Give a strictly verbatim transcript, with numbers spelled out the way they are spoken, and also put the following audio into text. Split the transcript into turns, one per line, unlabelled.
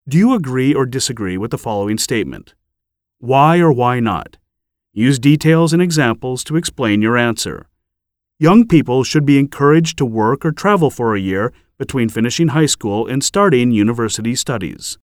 Do you agree or disagree with the following statement? Why or why not? Use details and examples to explain your answer. Young people should be encouraged to work or travel for a year between finishing high school and starting university studies.